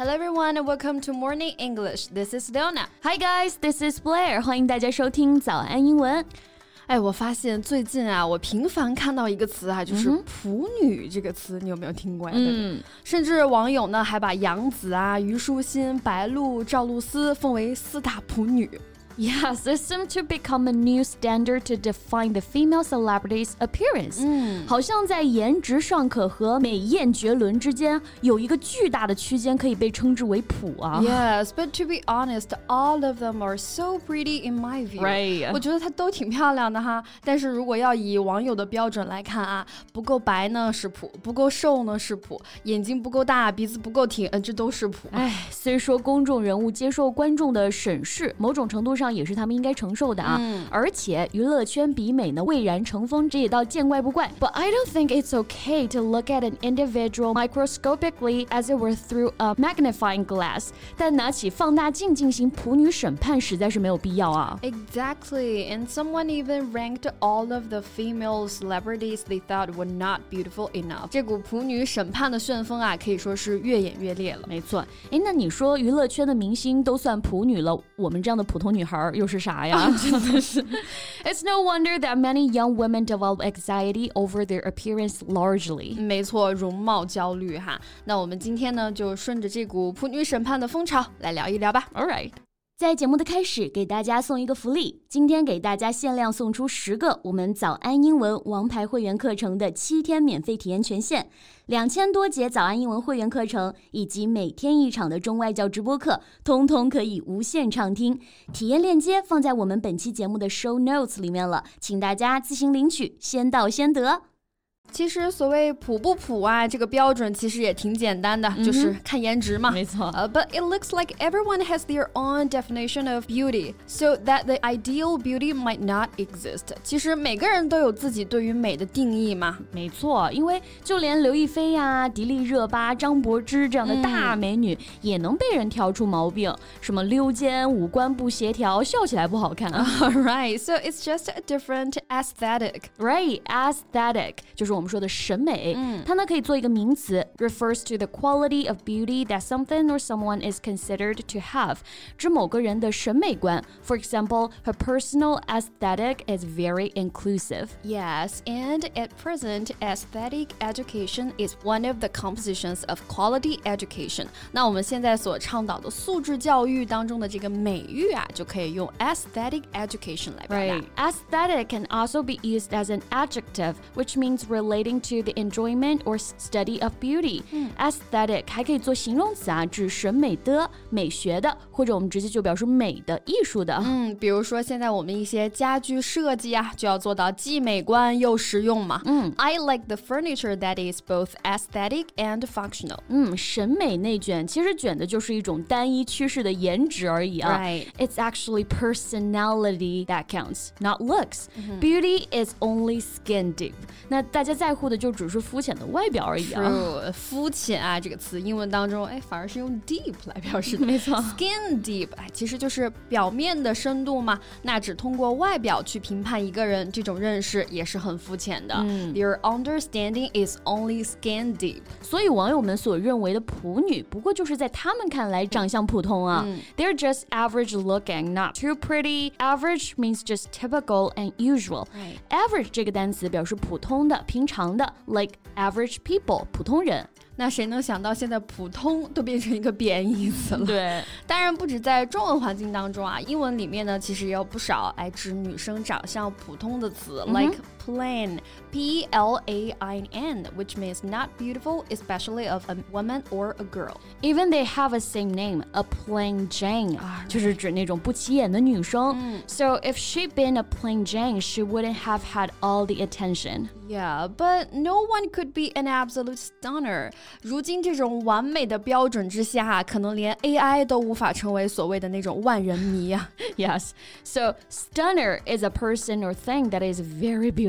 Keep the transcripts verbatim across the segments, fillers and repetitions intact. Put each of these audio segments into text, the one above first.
Hello everyone and welcome to Morning English. This is Leona. Hi guys, this is Blair. 欢迎大家收听早安英文。 哎，我发现最近啊，我频繁看到一个词啊，就是普女这个词，你有没有听过呀？嗯，甚至网友呢还把杨紫啊、虞书欣、白鹿、赵露思奉为四大普女。 Yes, this seems to become a new standard to define the female celebrity's appearance. 嗯，好像在颜值尚可和美艳绝伦之间有一个巨大的区间可以被称之为普啊。 Yes, but to be honest, all of them are so pretty in my view. Right. 我觉得她都挺漂亮的哈。但是如果要以网友的标准来看啊，不够白呢是普，不够瘦呢是普，眼睛不够大，鼻子不够挺，嗯，这都是普。 哎，虽说公众人物接受观众的审视，某种程度上也是他们应该承受的啊，嗯、而且娱乐圈比美呢蔚然成风，这也倒见怪不怪。But I don't think it's okay to look at an individual microscopically as it were through a magnifying glass. 但拿起放大镜进行普女审判实在是没有必要啊。 Exactly, and someone even ranked all of the female celebrities they thought were not beautiful enough. 这股普女审判的旋风啊，可以说是越演越烈了。 没错，哎，那你说娱乐圈的明星都算普女了，我们这样的普通女孩又是啥呀？真的是。It's no wonder that many young women develop anxiety over their appearance largely. 没错，容貌焦虑哈。那我们今天呢，就顺着这股普女审判的风潮来聊一聊吧。 All right.在节目的开始，给大家送一个福利。今天给大家限量送出十个我们早安英文王牌会员课程的七天免费体验权限，两千多节早安英文会员课程以及每天一场的中外教直播课，通通可以无限畅听。体验链接放在我们本期节目的 show notes 里面了，请大家自行领取，先到先得。 其实所谓普不普啊，这个标准其实也挺简单的，嗯、就是看颜值嘛。 没错。 Uh, but it looks like everyone has their own definition of beauty, so that the ideal beauty might not exist. 其实每个人都有自己对于美的定义嘛。 没错，因为就连刘亦菲呀、迪丽热巴、张柏芝这样的大美女，嗯、也能被人挑出毛病，什么溜肩、五官不协调、笑起来不好看啊。 Right, so it's just a different aesthetic. Right, aesthetic 就是我们说的审美，嗯、它呢可以做一个名词 refers to the quality of beauty that something or someone is considered to have 指某个人的审美观 For example, her personal aesthetic is very inclusive. Yes, and at present, aesthetic education is one of the compositions of quality education. 那我们现在所倡导的素质教育当中的这个美育啊，就可以用 aesthetic education 来表达。 Right. Aesthetic can also be used as an adjective, which means relating to the enjoyment or study of beauty. 嗯、aesthetic 还可以做形容词啊，指审美的、美学的，或者我们直接就表示美的、艺术的。 嗯，比如说现在我们一些家居设计啊，就要做到既美观又实用嘛。嗯 I like the furniture that is both aesthetic and functional. 嗯，审美内卷其实卷的就是一种单一趋势的颜值而已啊。 Right. It's actually personality that counts, not looks. Mm-hmm. Beauty is only skin deep. 那大家在乎的就只是肤浅的外表而已啊。 True. 肤浅啊这个词英文当中哎反而是用 deep 来表示的。 没错。 Skin deep 哎其实就是表面的深度嘛，那只通过外表去评判一个人，这种认识也是很肤浅的。嗯、Your understanding is only skin deep. 所以网友们所认为的普女，不过就是在他们看来长相普通啊。嗯、They're just average looking, not too pretty. Average means just typical and usual. Right. Average 这个单词表示普通的、平常的 ，like average people 普通人。 那谁能想到现在普通都变成一个贬义词了？ 对， 当然不止在中文环境当中啊，英文里面呢其实也有不少来指女生长相普通的词、嗯、like plain, P L A I N, which means not beautiful, especially of a woman or a girl. Even they have a same name, a plain Jane, 就是指那种不起眼的女生。嗯、so if she'd been a plain Jane, she wouldn't have had all the attention. Yeah, but no one could be an absolute stunner. 如今这种完美的标准之下，可能连 A I 都无法成为所谓的那种万人迷啊。 Yes, so stunner is a person or thing that is very beautiful.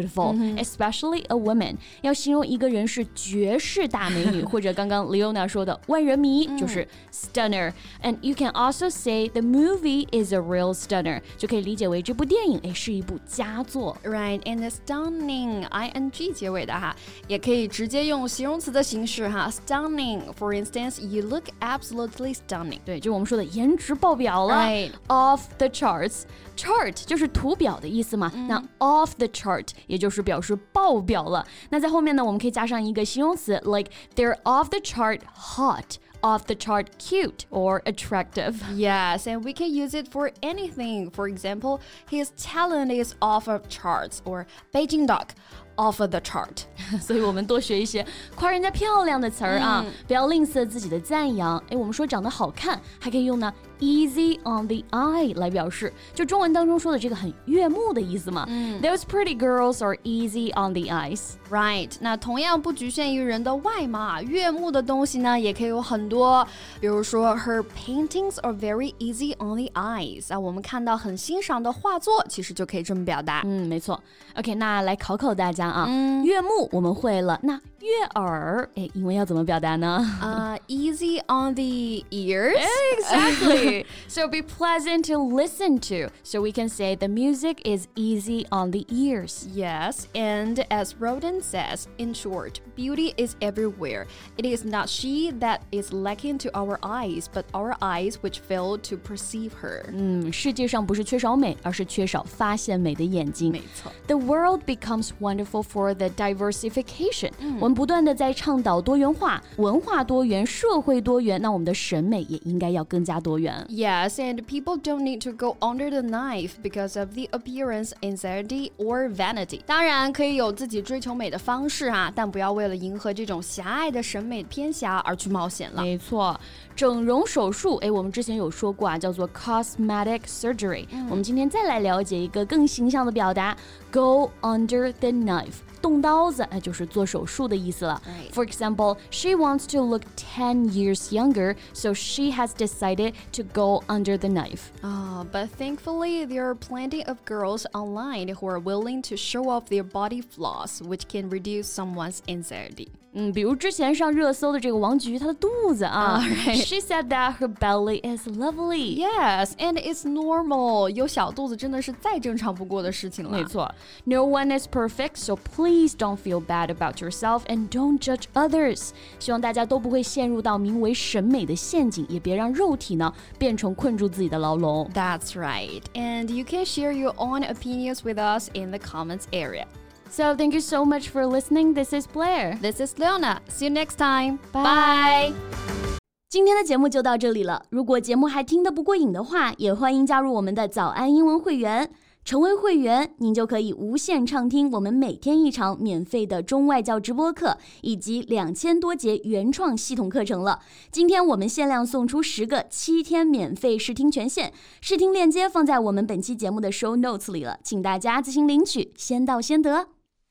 beautiful、mm-hmm. especially a woman. 要形容一个人是绝世大美女或者刚刚 Leona 说的万人迷就是 stunner. And you can also say the movie is a real stunner. 就可以理解为这部电影诶是一部佳作。 Right, and stunning ing 结尾的哈，也可以直接用形容词的形式哈 stunning. For instance, you look absolutely stunning. 对，就是我们说的颜值爆表了。 Right. Off the charts. Chart 就是图表的意思嘛、嗯、那 off the chart 也就是表示爆表了。那在后面呢我们可以加上一个形容词 like they're off the chart hot, off the chart cute or attractive. Yes, and we can use it for anything. For example, his talent is off of charts or Beijing duck off of the chart. 所以我们多学一些夸人家漂亮的词儿啊、嗯、不要吝啬自己的赞扬。诶，我们说长得好看还可以用呢 easy on the eye 来表示，就中文当中说的这个很悦目的意思嘛、嗯、Those pretty girls are easy on the eyes. Right, 那同样不局限于人的外貌，悦目的东西呢也可以有很多，比如说 Her paintings are very easy on the eyes. 啊，我们看到很欣赏的画作其实就可以这么表达。 嗯，没错。 OK, 那来考考大家啊，嗯、悦目我们会了，那悦耳诶英文要怎么表达呢？ Uh, easy on the ears. Exactly. So be pleasant to listen to. So we can say the music is easy on the ears. Yes, and as Rodin says, in short, beauty is everywhere. It is not she that is lacking to our eyes, but our eyes which fail to perceive her. 嗯，世界上不是缺少美，而是缺少发现美的眼睛。 没错。 The world becomes wonderful for the diversification. 嗯，我们不断的在倡导多元化，文化多元，社会多元，那我们的审美也应该要更加多元。 Yes, and people don't need to go under the knife because of the appearance, anxiety, or vanity. 当然可以有自己追求美的方式啊，但不要为了迎合这种狭隘的审美偏狭而去冒险了。 没错，整容手术，诶，我们之前有说过啊，叫做 cosmetic surgery、嗯、我们今天再来了解一个更形象的表达 go under the knife。 动刀子，哎，就是做手术的意思了。 Right. For example, she wants to look ten years younger, so she has decided to go under the knife. Oh, but thankfully, there are plenty of girls online who are willing to show off their body flaws, which can reduce someone's anxiety. 嗯，比如之前上热搜的这个王菊，她的肚子啊 right. She said that her belly is lovely. Yes, and it's normal. 有小肚子真的是再正常不过的事情了。 没错。No one is perfect, so please don't feel bad about yourself and don't judge others. 希望大家都不会陷入到名为审美的陷阱，也别让肉体呢变成困住自己的牢笼。 That's right. And you can share your own opinions with us in the comments area.So thank you so much for listening. This is Blair. This is Leona. See you next time. Bye. 今天的节目就到这里了。如果节目还听得不过瘾的话，也欢迎加入我们的早安英文会员。成为会员，您就可以无限畅听我们每天一场免费的中外教直播课，以及两千多节原创系统课程了。今天我们限量送出十个七天免费试听权限，试听链接放在我们本期节目的 show notes 里了，请大家自行领取，先到先得。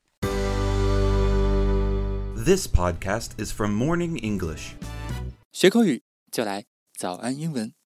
This podcast is from Morning English. 学口语就来早安英文。